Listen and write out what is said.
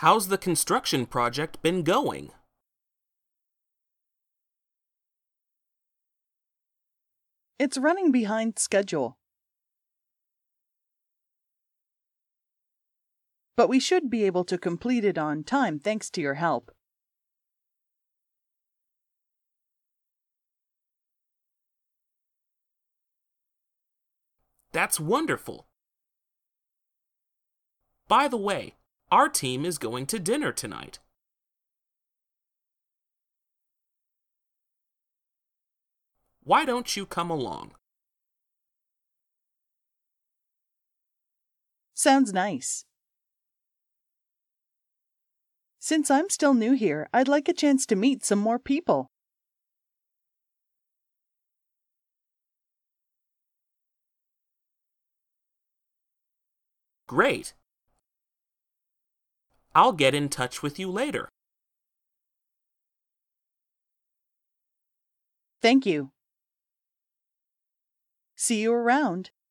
How's the construction project been going? It's running behind schedule. But we should be able to complete it on time thanks to your help. That's wonderful. By the way, our team is going to dinner tonight. Why don't you come along? Sounds nice. Since I'm still new here, I'd like a chance to meet some more people. Great. I'll get in touch with you later. Thank you. See you around.